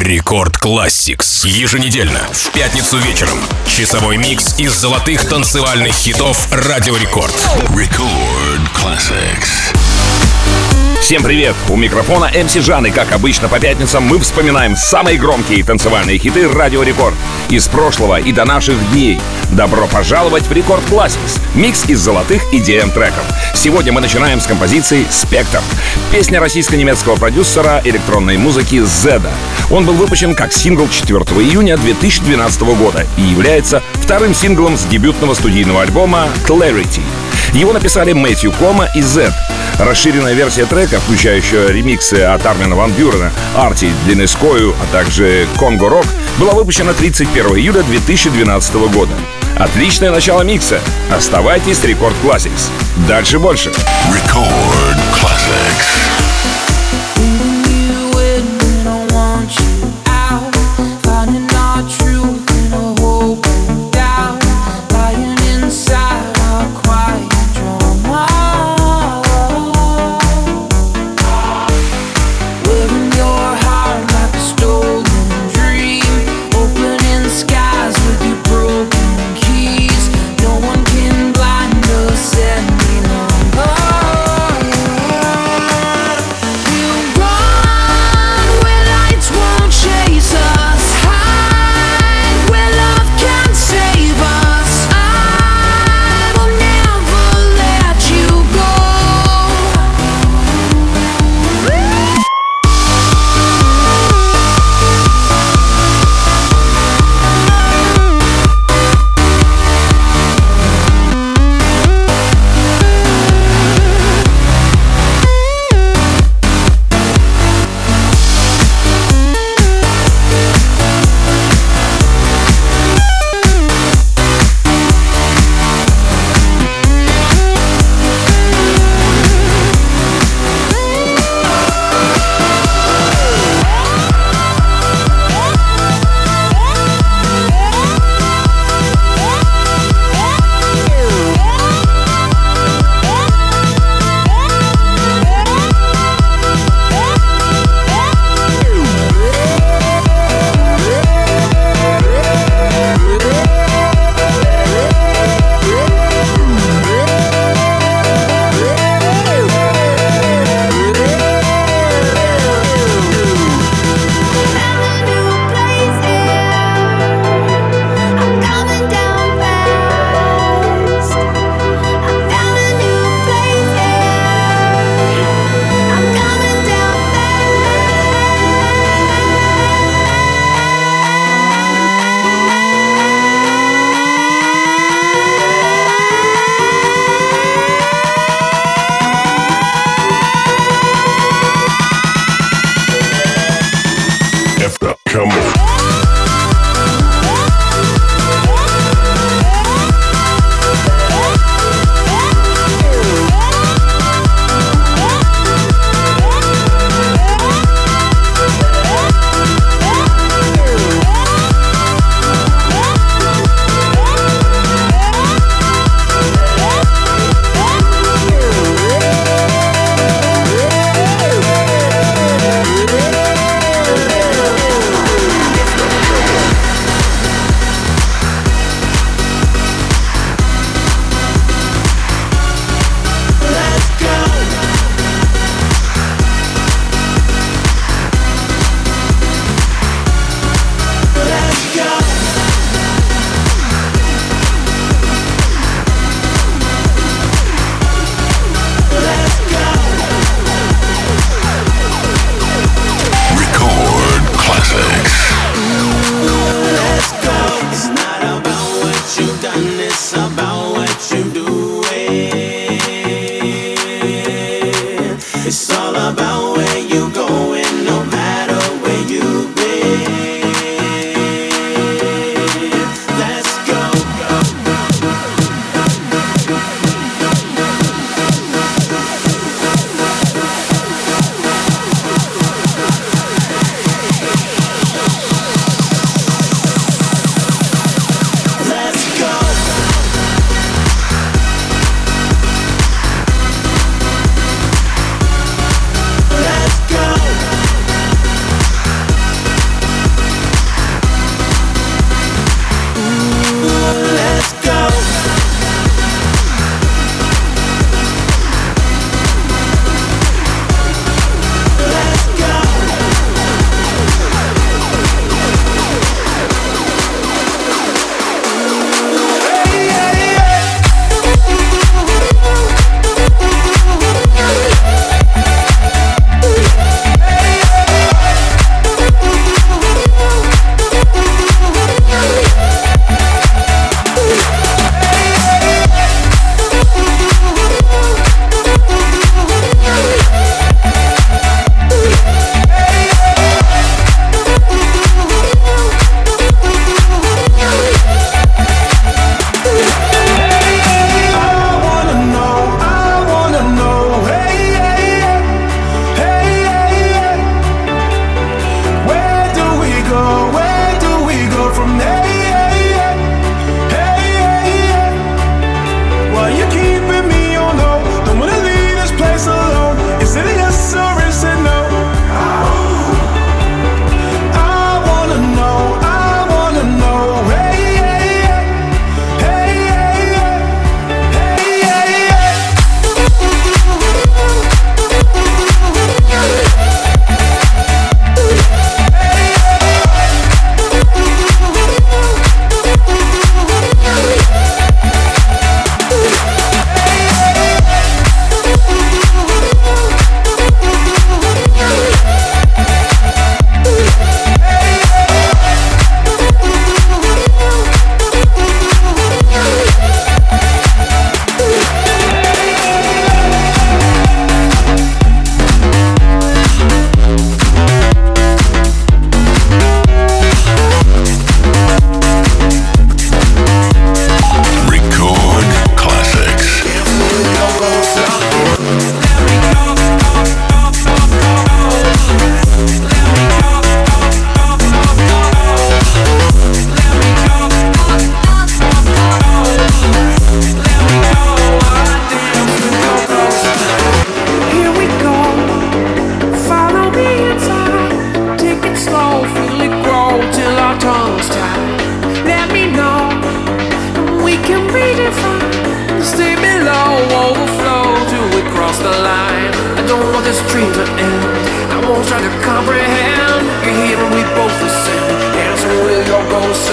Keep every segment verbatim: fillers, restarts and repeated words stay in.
Рекорд Classics. Еженедельно, в пятницу вечером. Часовой микс из золотых танцевальных хитов Радио Рекорд. Record Classics. Всем привет! У микрофона эм си Жан, и как обычно по пятницам мы вспоминаем самые громкие танцевальные хиты Радио Рекорд из прошлого и до наших дней. Добро пожаловать в Рекорд Classics, микс из золотых и ди эм-треков. Сегодня мы начинаем с композиции «Спектр». Песня российско-немецкого продюсера электронной музыки Зеда. Он был выпущен как сингл четвёртого июня две тысячи двенадцатого года и является вторым синглом с дебютного студийного альбома «Clarity». Его написали Мэтью Кома и Зед. Расширенная версия трека, включающая ремиксы от Армина ван Бюрена, Арти, Денискою, а также Конго Рок, была выпущена тридцать первого июля две тысячи двенадцатого года. Отличное начало микса. Оставайтесь с Рекорд Classics. Дальше больше. Record Classics.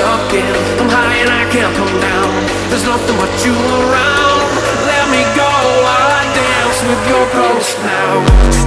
stuck in. I'm high and I can't come down. There's nothing but you around. Let me go while I dance with your ghost now.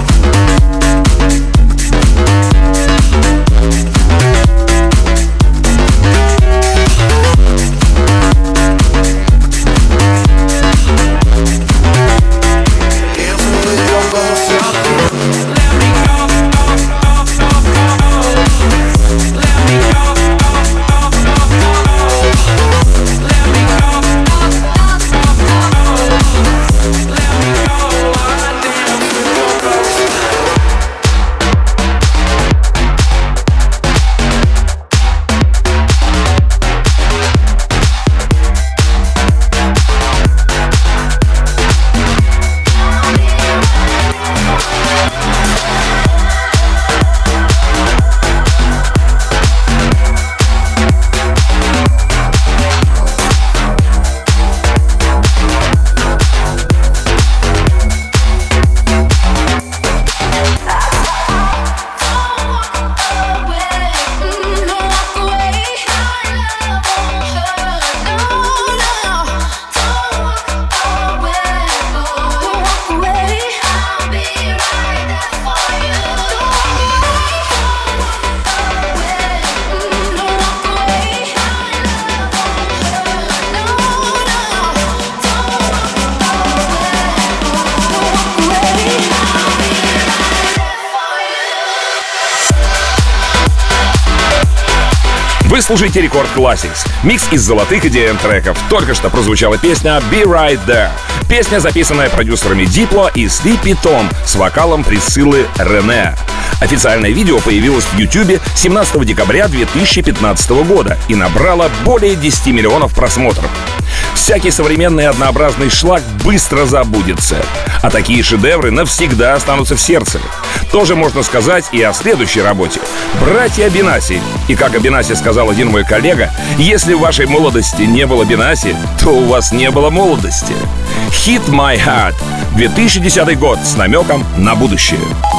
Вы слушаете Рекорд Classics. Микс из золотых и ди эм-треков. Только что прозвучала песня «Be Right There». Песня, записанная продюсерами Дипло и Sleepy Tom с вокалом Присциллы Рене. Официальное видео появилось в Ютубе семнадцатого декабря две тысячи пятнадцатого года и набрало более десяти миллионов просмотров. Всякий современный однообразный шлак быстро забудется, а такие шедевры навсегда останутся в сердце. Тоже можно сказать и о следующей работе «Братья Бенаси». И как о Бенаси сказал один мой коллега, если в вашей молодости не было Бенаси, то у вас не было молодости. «Hit My Heart» две тысячи десятый год с намеком на будущее.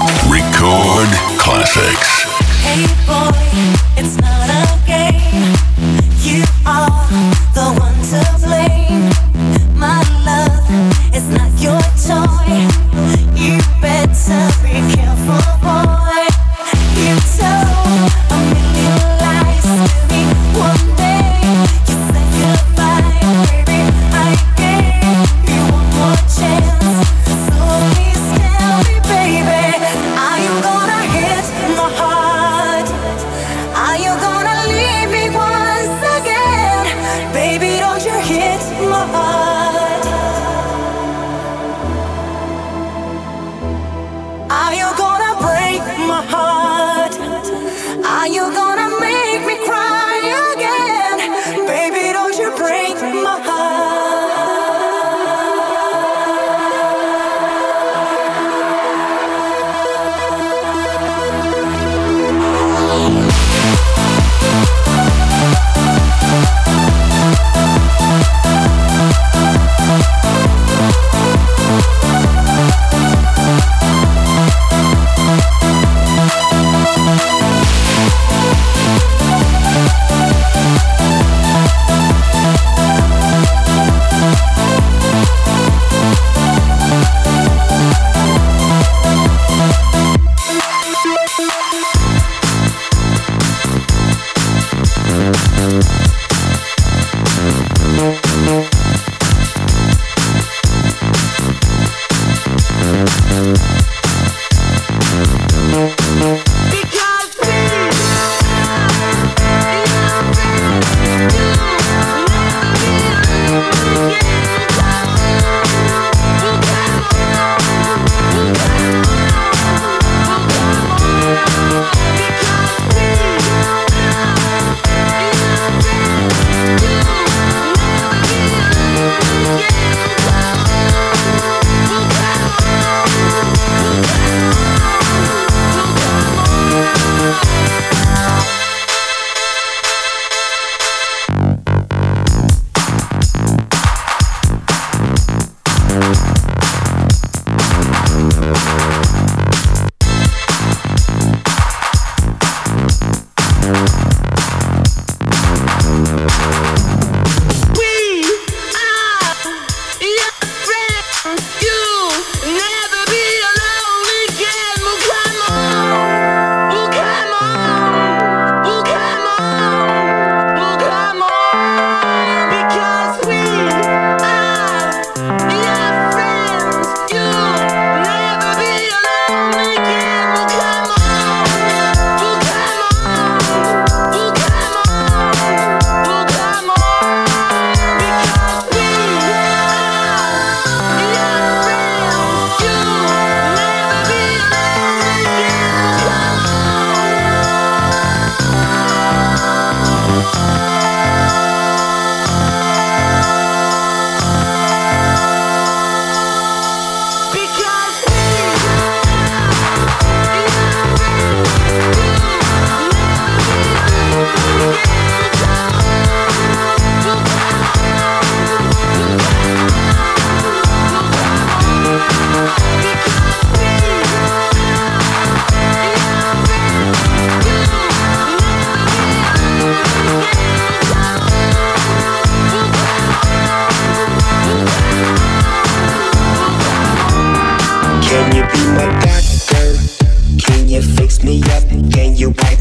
Record Classics. Hey boy, it's not a game. You are the one to blame. My love is not your toy. You better be careful, boy. You told a million lies to me one day. You said goodbye, baby. I gave you one more chance. So please tell me, baby, are you gonna hit my heart? Are you gonna leave me once again? Baby, don't you hit my heart? Are you gonna break my heart? Are you gonna make me cry again? Baby, don't you break my heart?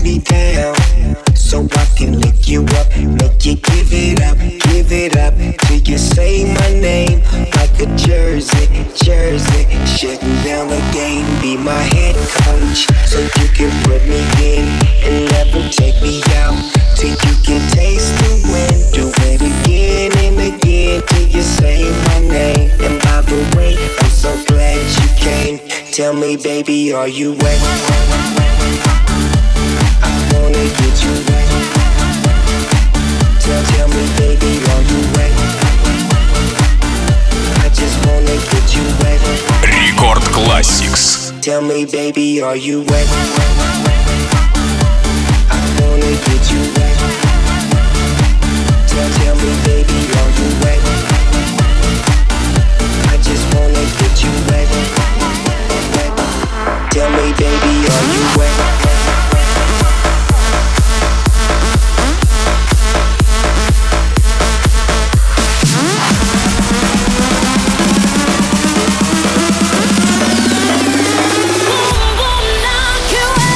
me down, so I can lick you up, make you give it up, give it up till you say my name like a jersey, jersey. Shutting down the game, be my head coach, so you can put me in and never take me out till you can taste the wind. Do it again and again till you say my name. And by the way, I'm so glad you came. Tell me, baby, are you wet? I wanna get you wet. Tell, tell me, baby, are you wet? I just wanna get you wet. Рекорд Classics. Tell me, baby, are you wet? I wanna get you wet. Tell, tell me, baby, are you wet? I just wanna get you wet. Tell me, baby, are you wet? Boom, boom, knock you out.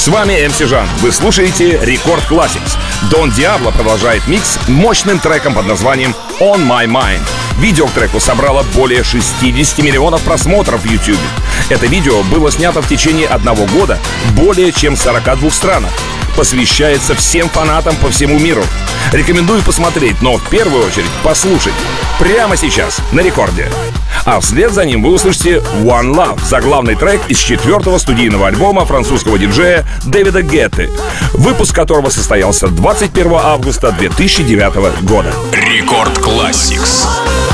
С вами эм си Жан. Вы слушаете Рекорд Classics. Дон Диабло продолжает микс мощным треком под названием On My Mind. Видео к треку собрало более шестьдесят миллионов просмотров в YouTube. Это видео было снято в течение одного года более чем в сорока двух странах. Посвящается всем фанатам по всему миру. Рекомендую посмотреть, но в первую очередь послушать. Прямо сейчас на рекорде. А вслед за ним вы услышите One Love, заглавный трек из четвертого студийного альбома французского диджея Дэвида Гетты, выпуск которого состоялся двадцать первого августа две тысячи девятого года. Рекорд Classics.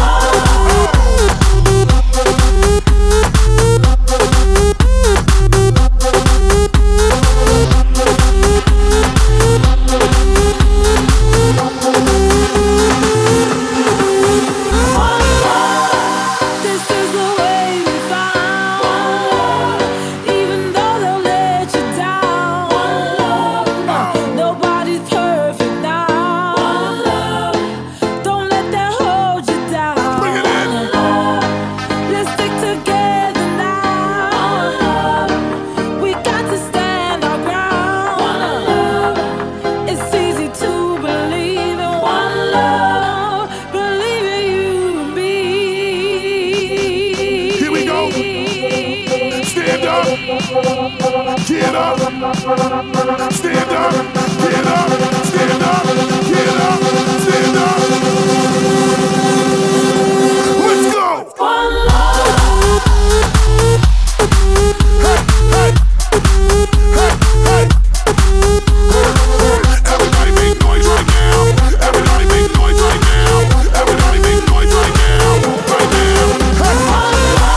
Get up, stand up, get up, stand up, get up, stand up. Let's go. One love. Hey, hey, hey, hey. Everybody make noise right now. Everybody make noise right now. Everybody make noise right now. Right now. Hey. One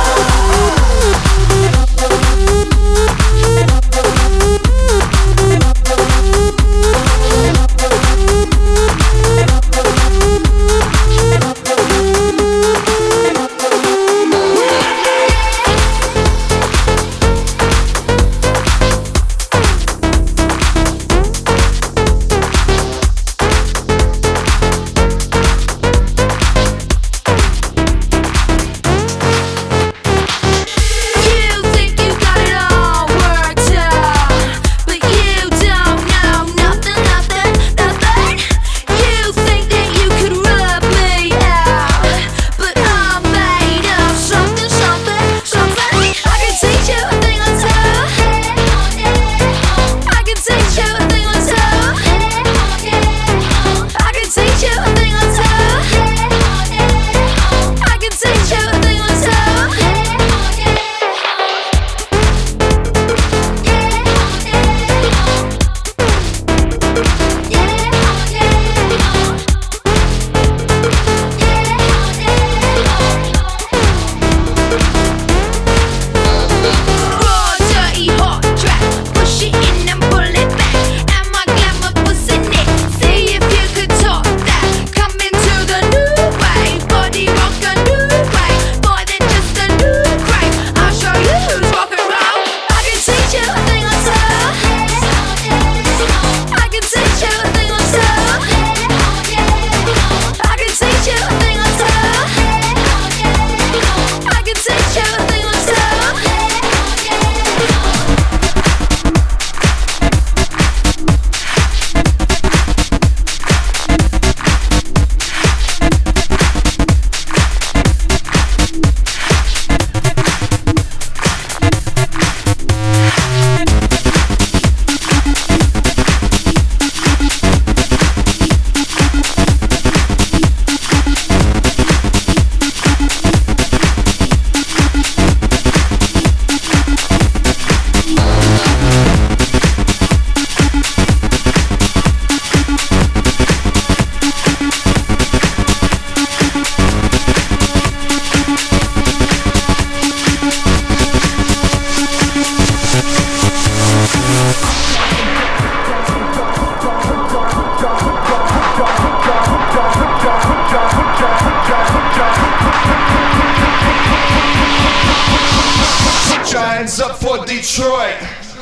Hands up for Detroit,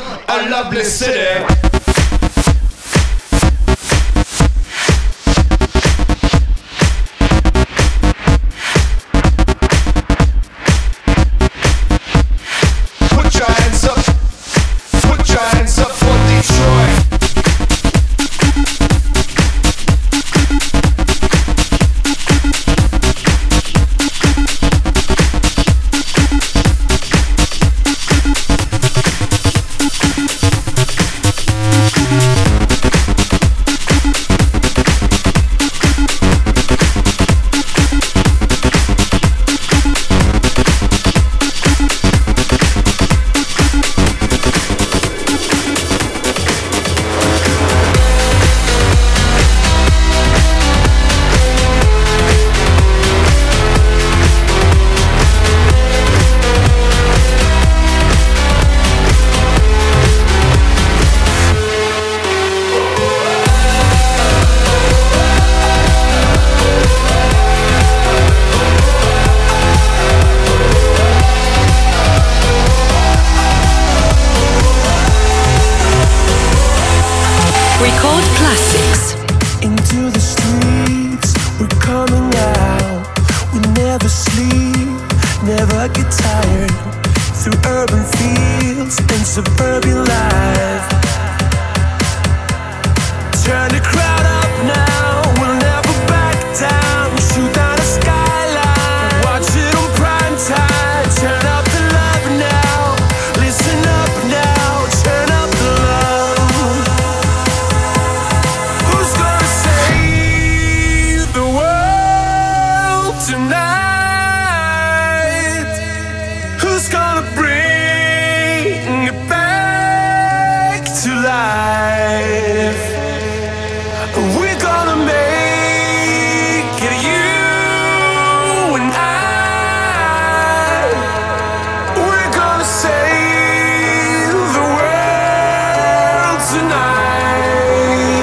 a lovely city. Put your hands up, put your hands up for Detroit. Record Classics. Into the streets, we're coming out. We never sleep, never get tired. Through urban fields and suburban life. Turn the crowd up now, we'll never back down. Shoot down the skyline, watch it on prime time. Turn up the love now, listen up now, turn up the love. Who's gonna save the world tonight? Who's gonna bring it back to life? We're gonna make it, you and I. We're gonna save the world tonight.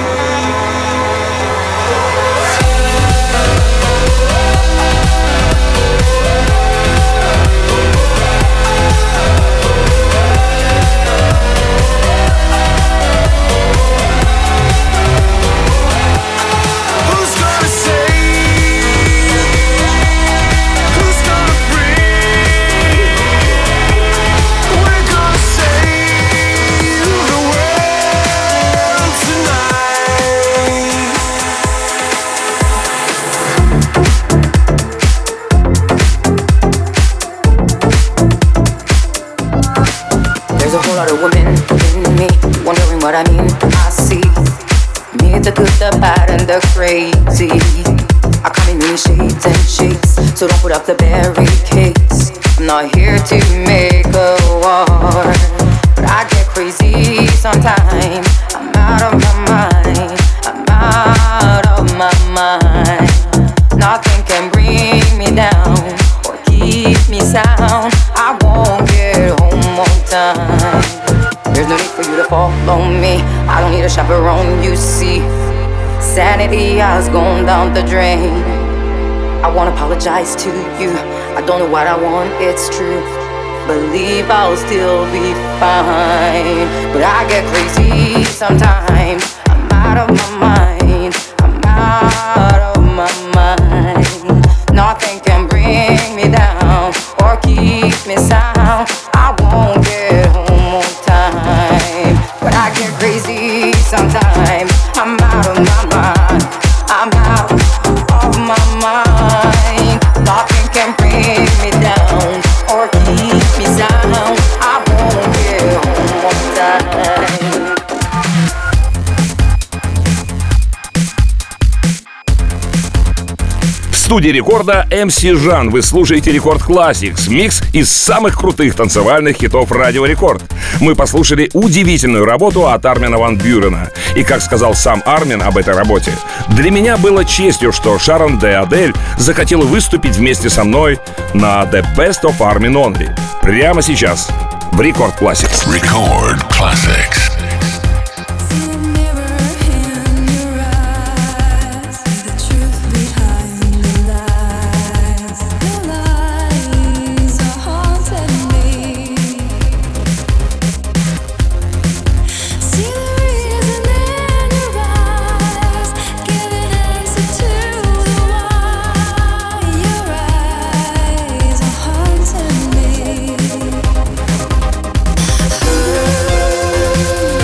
Who's gonna save? Who's gonna bring? We're gonna save the world tonight. There's a whole lot of women in me, wondering what I mean. I see me, the good, the bad, and the crazy. I come in many shades and shapes, so don't put up the barricades. I'm not here to make a war, but I get crazy sometimes. I'm out of my mind, I'm out of my mind. Nothing can bring me down or keep me sound. I won't get home on time. There's no need for you to follow me. I don't need a chaperone, you see. Sanity has gone down the drain. I wanna apologize to you. I don't know what I want, it's true. Believe I'll still be fine. But I get crazy sometimes. I'm out of my mind. I'm out of my mind. Nothing can bring me down or keep me sound. I won't get home on time. But I get crazy sometimes. I'm out of my mind. I'm out of my mind. Nothing can bring me down or keep me sound. I won't get home on time. В студии рекорда эм си Жан. Вы слушаете Рекорд Classics, микс из самых крутых танцевальных хитов Радио Рекорд. Мы послушали удивительную работу от Армина ван Бюрена. И как сказал сам Армин об этой работе, для меня было честью, что Шарон де Адель захотела выступить вместе со мной на The Best of Armin Only. Прямо сейчас в Рекорд Classics. Record Classics. Ooh.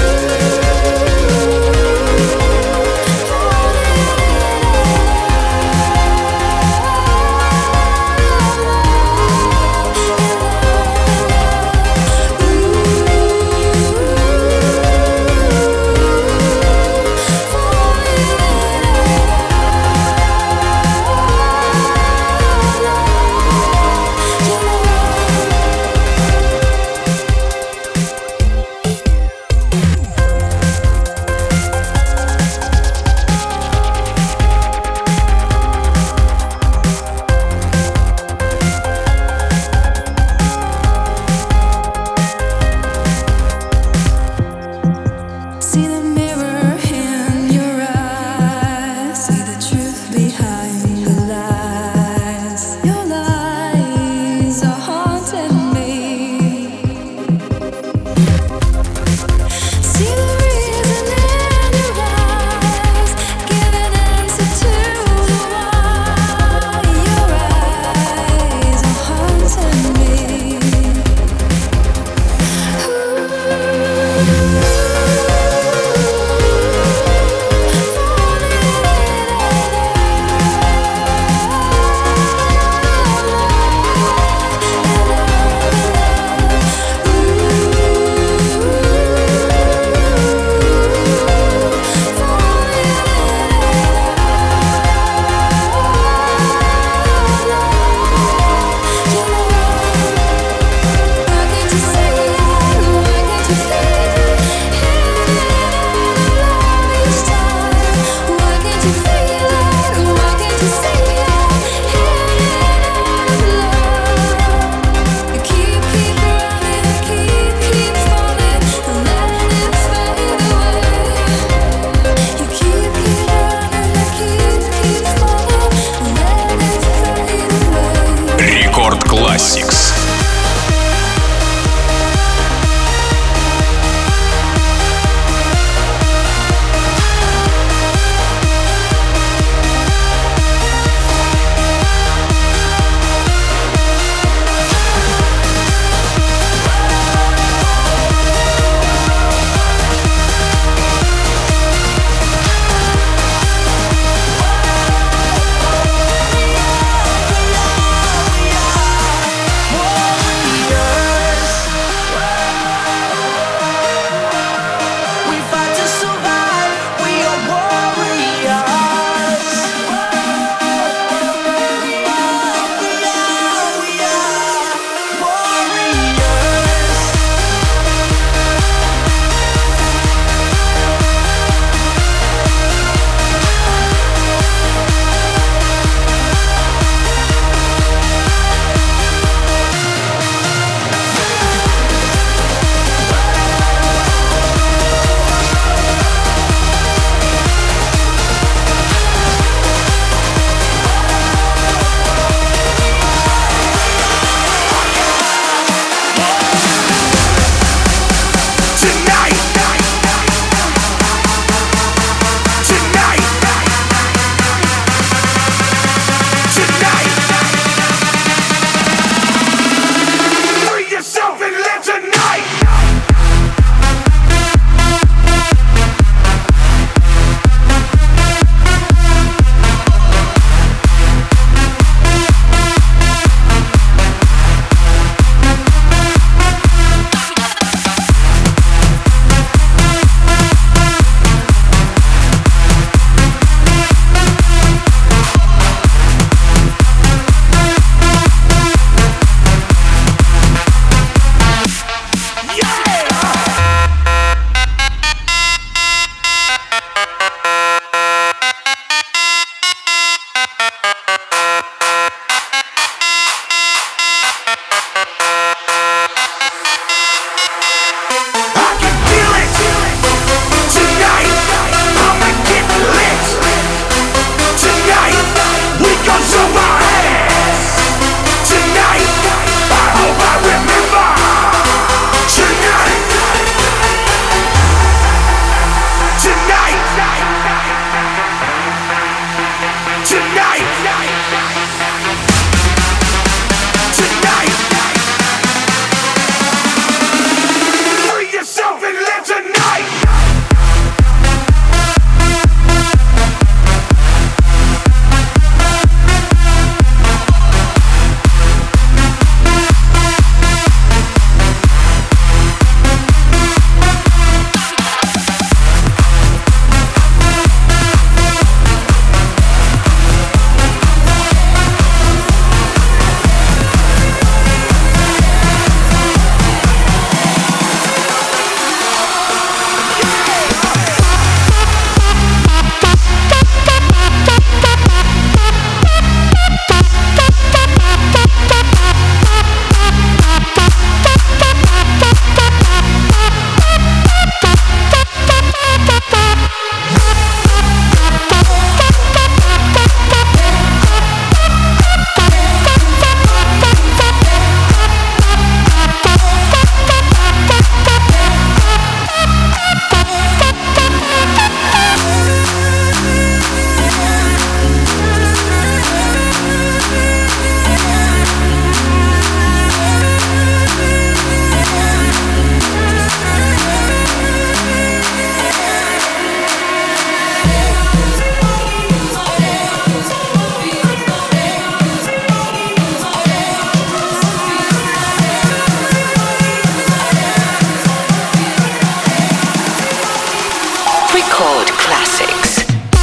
Record Classics.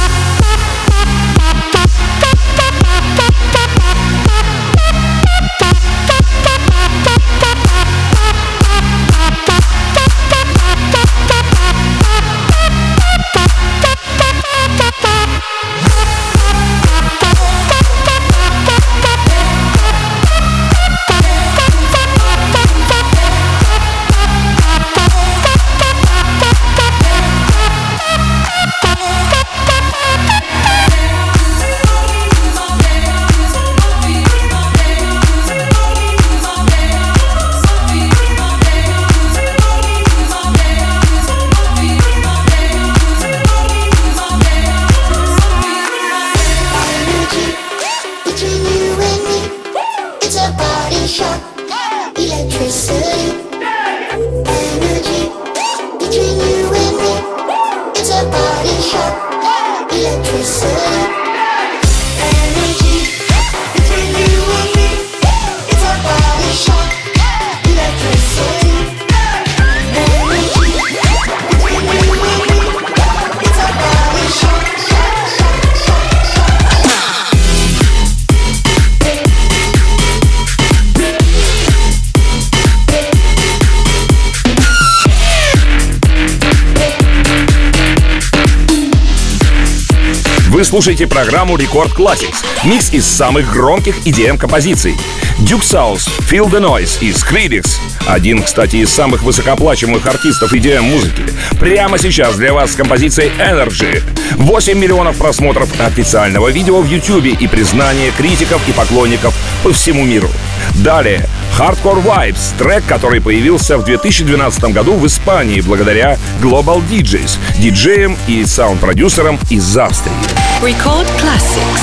Вы слушаете программу Record Classics, микс из самых громких и ди эм-композиций. Duke South, Feel the Noise и Skrillex. Один, кстати, из самых высокооплачиваемых артистов и ди эм-музыки. Прямо сейчас для вас с композицией Energy. восемь миллионов просмотров официального видео в YouTube и признание критиков и поклонников по всему миру. Далее Hardcore Vibes, трек, который появился в две тысячи двенадцатом году в Испании благодаря Global ди джейс, диджеям и саунд-продюсерам из Австрии. Record Classics.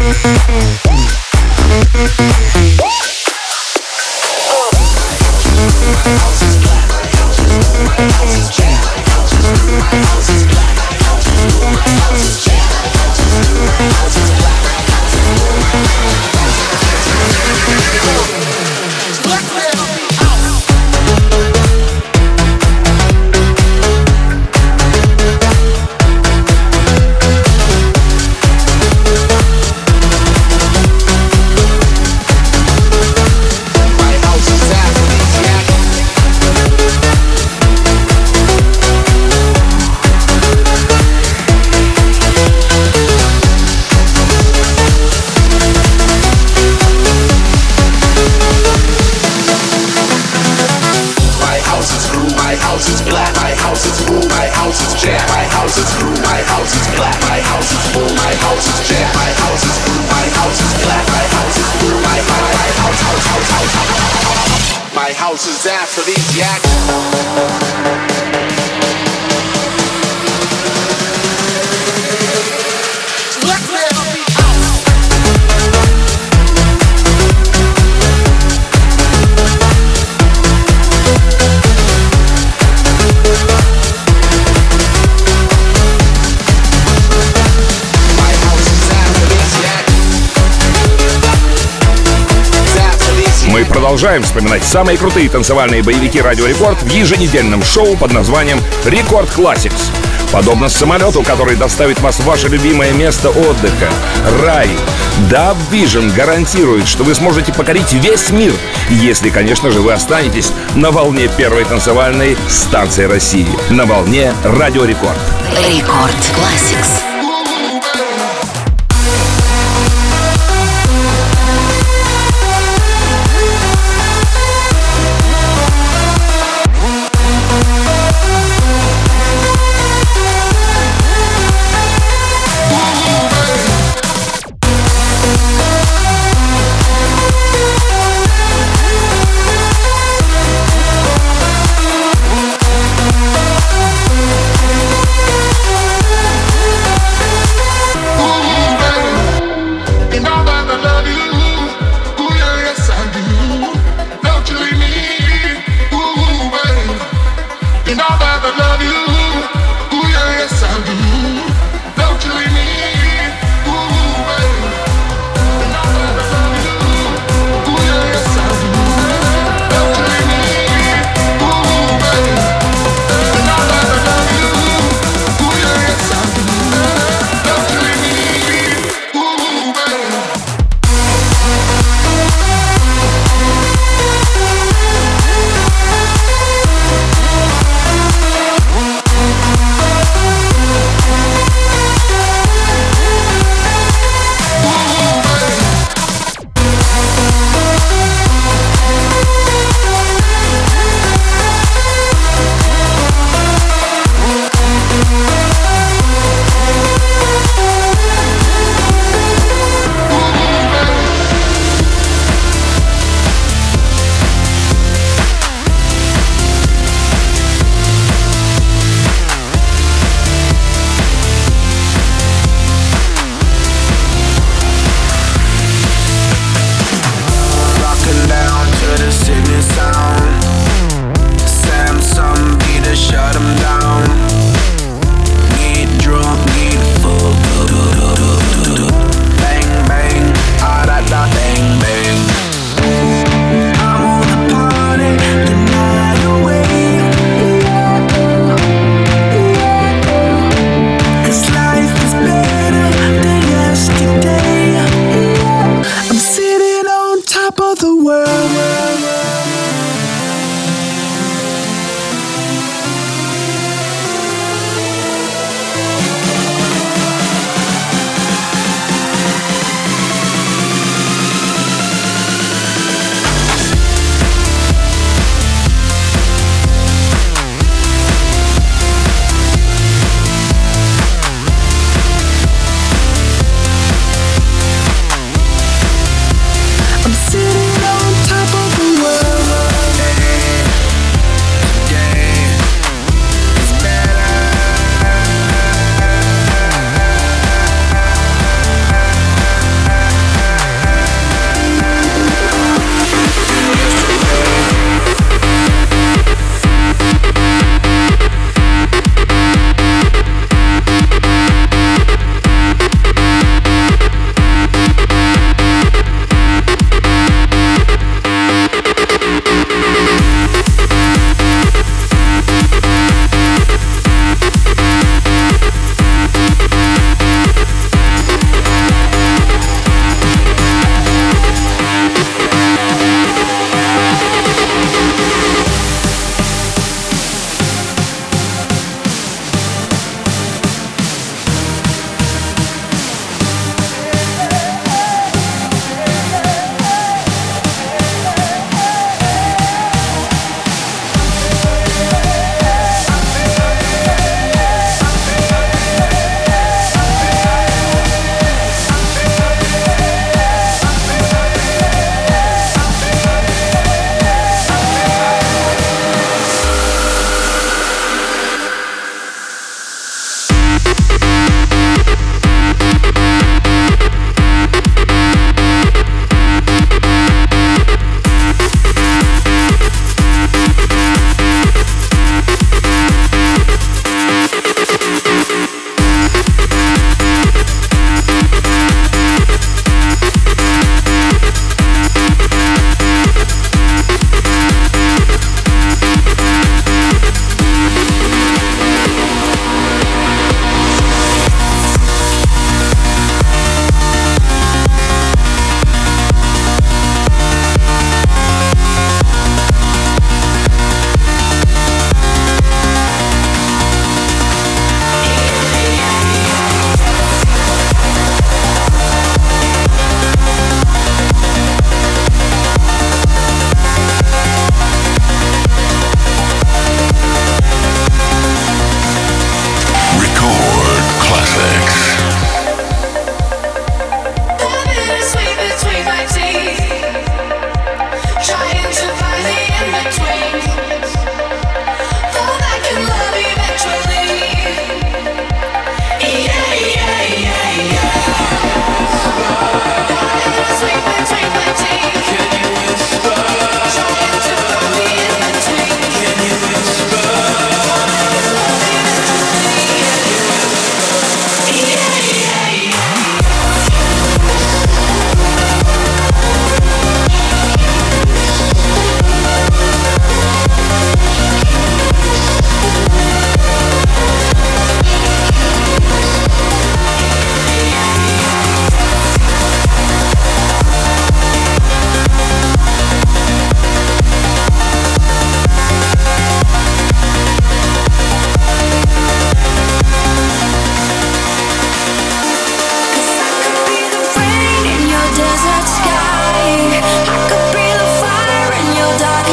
Продолжаем вспоминать самые крутые танцевальные боевики Радио Рекорд в еженедельном шоу под названием Рекорд Classics. Подобно самолету, который доставит вас в ваше любимое место отдыха — рай, Dub Vision гарантирует, что вы сможете покорить весь мир, если, конечно же, вы останетесь на волне первой танцевальной станции России, на волне Радио Рекорд. Рекорд Classics.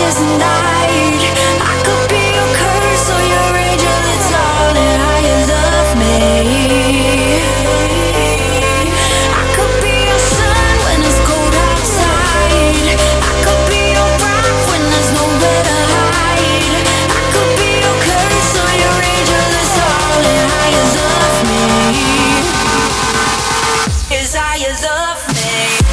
darkest night. I could be your curse or your angel. It's all in how you love me. I could be your sun when it's cold outside. I could be your rock when there's nowhere to hide. I could be your curse or your angel. It's all in how you love me. Is how you love me.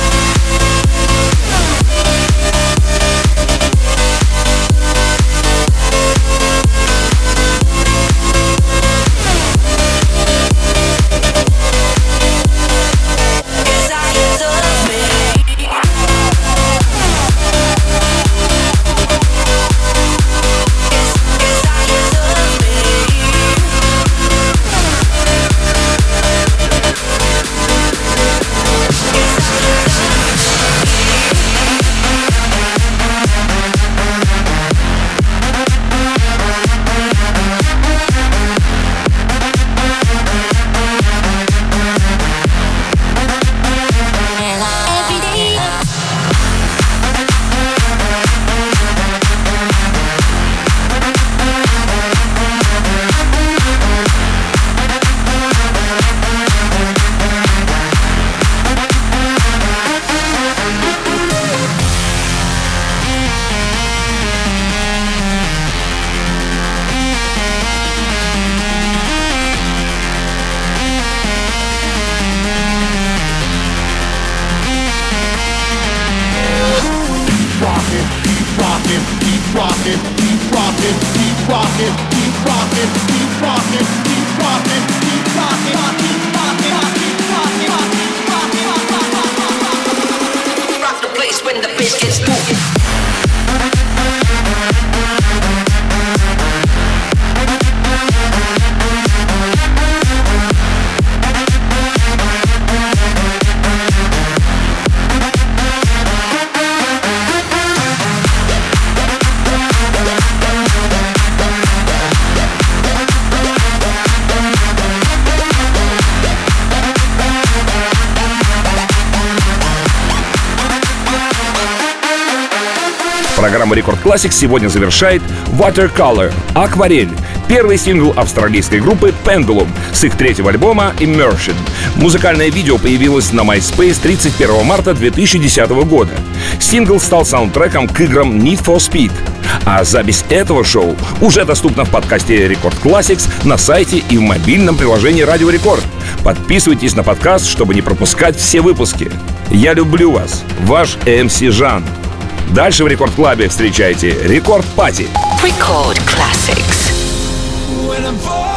Rock the place when the bass gets moving. Программу Рекорд Classics сегодня завершает Watercolor — «Акварель», первый сингл австралийской группы Pendulum с их третьего альбома Immersion. Музыкальное видео появилось на MySpace тридцать первого марта две тысячи десятого года. Сингл стал саундтреком к играм Need for Speed. А запись этого шоу уже доступна в подкасте Рекорд Classics на сайте и в мобильном приложении Радио Рекорд. Подписывайтесь на подкаст, чтобы не пропускать все выпуски. Я люблю вас, ваш эм си Жан. Дальше в Рекорд Клабе встречайте Рекорд Пати. Record Classics. When I'm